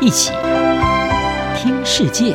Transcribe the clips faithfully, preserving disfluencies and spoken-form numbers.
一起聽世界。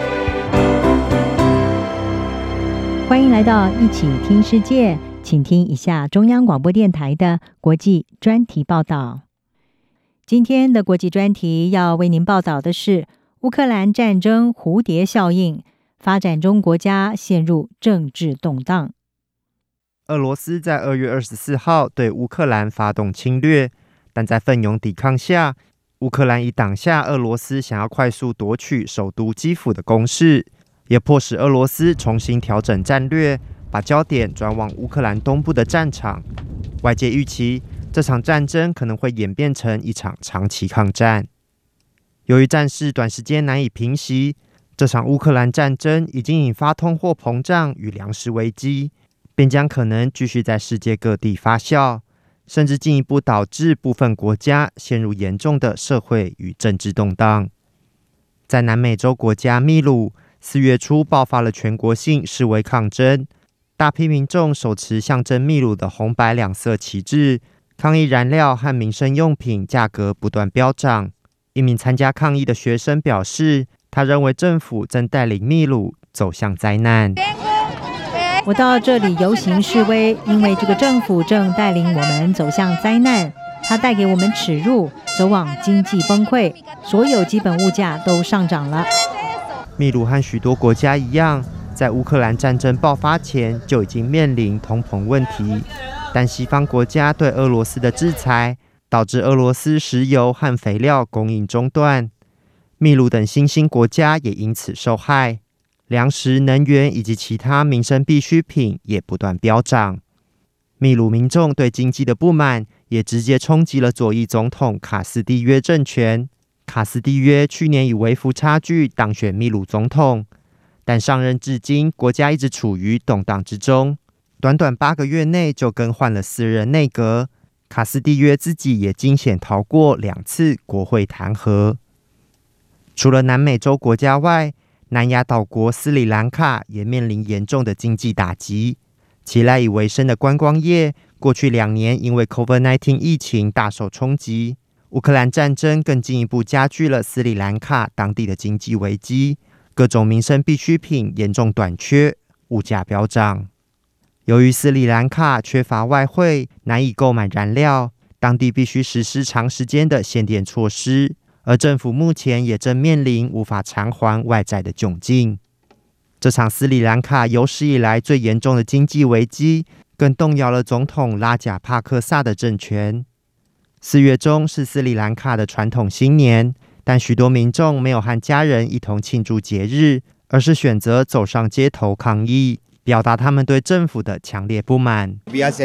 歡迎來到一起聽世界，請聽一下中央廣播電臺的國際專題報道。今天的國際專題要為您報道的是烏克蘭戰爭蝴蝶效應，發展中國家陷入政治動盪。 俄羅斯在二月二十四號對烏克蘭發動侵略，但在奮勇抵抗下，烏克蘭已擋下俄羅斯想要快速奪取首都基輔的攻勢，也迫使俄羅斯重新調整戰略，把焦點轉往烏克蘭東部的戰場。外界預期這場戰爭可能會演變成一場長期抗戰。由於戰事短時間難以平息，這場烏克蘭戰爭已經引發通貨膨脹與糧食危機，並將可能繼續在世界各地發酵，甚至進一步導致部分國家陷入嚴重的社會與政治動盪。在南美洲國家秘魯，四月初爆發了全國性示威抗爭，大批民眾手持象徵秘魯的紅白兩色旗幟，抗議燃料和民生用品價格不斷飆漲。一名參加抗議的學生表示，他認為政府正帶領秘魯走向災難。 我到這裡遊行示威，因為這個政府正帶領我們走向災難，它帶給我們恥辱，走往經濟崩潰，所有基本物價都上漲了。 秘魯和許多國家一樣，在烏克蘭戰爭爆發前就已經面臨通膨問題，但西方國家對俄羅斯的制裁，導致俄羅斯石油和肥料供應中斷，秘魯等新興國家也因此受害。糧食、能源以及其他民生必需品也不斷飆漲。秘魯民眾對經濟的不滿也直接衝擊了左翼總統卡斯蒂約政權。卡斯蒂約去年以微幅差距當選秘魯總統，但上任至今，國家一直處於動盪之中。短短八個月內就更換了四任內閣，卡斯蒂約自己也驚險逃過兩次國會彈劾。除了南美洲國家外，南亞島國斯里蘭卡也面臨嚴重的經濟打擊，其賴以為生的觀光業過去兩年因為 COVID 十九 疫情大受衝擊，烏克蘭戰爭更進一步加劇了斯里蘭卡當地的經濟危機，各種民生必需品嚴重短缺，物價飆漲。由於斯里蘭卡缺乏外匯，難以購買燃料，當地必須實施長時間的限電措施。而政府目前也正面臨無法償還外債的窘境。這場斯里蘭卡有史以來最嚴重的經濟危機，更動搖了總統拉賈帕克薩的政權。四月中是斯里蘭卡的傳統新年，但許多民眾沒有和家人一同慶祝節日，而是選擇走上街頭抗議，表達他們對政府的強烈不滿。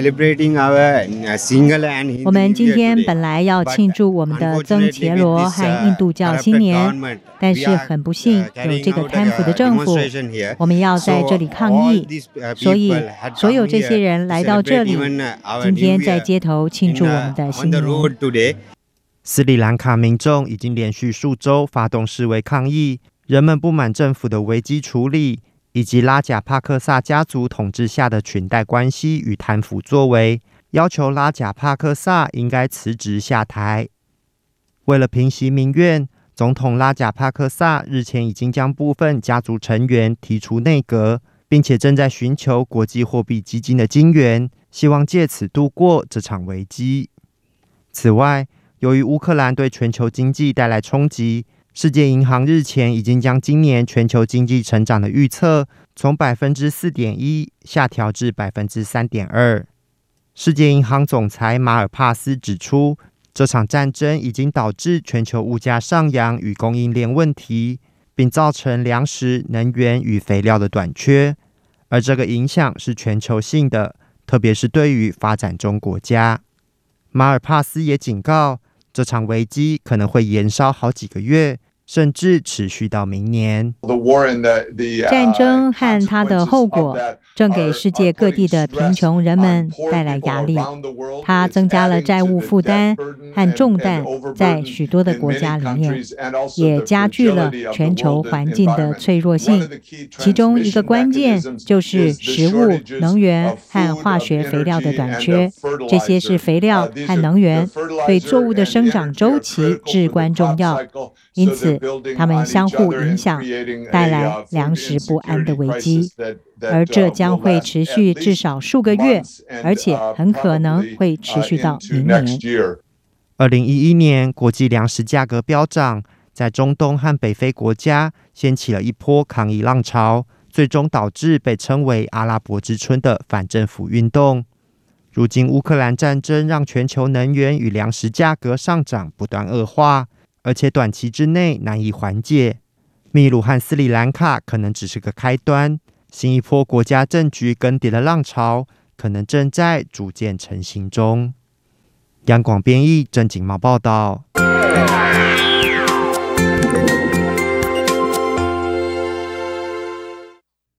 我們今天本來要慶祝我們的曾伽羅和印度教新年，但是很不幸有這個貪腐的政府，我們要在這裡抗議，所以所有這些人來到這裡，今天在街頭慶祝我們的新年。 斯里蘭卡民眾已經連續數週發動示威抗議，人們不滿政府的危機處理，以及拉賈帕克薩家族統治下的裙帶關係與貪腐作為，要求拉賈帕克薩應該辭職下台。為了平息民怨，總統拉賈帕克薩日前已經將部分家族成員提出內閣，並且正在尋求國際貨幣基金的金援，希望借此度過這場危機。此外，由於烏克蘭對全球經濟帶來衝擊，世界銀行日前已經將今年全球經濟成長的預測從百分之四點一下調至百分之三點二。世界銀行總裁馬爾帕斯指出，這場戰爭已經導致全球物價上揚與供應鏈問題，並造成糧食、能源與肥料的短缺，而這個影響是全球性的，特別是對於發展中國家。馬爾帕斯也警告，這場危機可能會延燒好幾個月，甚至持續到明年。 戰爭和它的後果正給世界各地的貧窮人們帶來壓力。它增加了債務負擔和重擔在許多的國家裡面，也加劇了全球環境的脆弱性。其中一個關鍵就是食物、能源和化學肥料的短缺。這些是肥料和能源對作物的生長週期至關重要，因此它們相互影響，帶來糧食不安的危機。而這將會持續至少數個月，而且很可能會持續到明年。 二零一一年，國際糧食價格飆漲，在中東和北非國家掀起了一波抗議浪潮，最終導致被稱為阿拉伯之春的反政府運動。如今，烏克蘭戰爭讓全球能源與糧食價格上漲不斷惡化，而且短期之內難以緩解。秘魯和斯里蘭卡可能只是個開端。新一波國家政局更迭的浪潮可能正在逐漸成型中。央廣編譯，鄭景茂報道。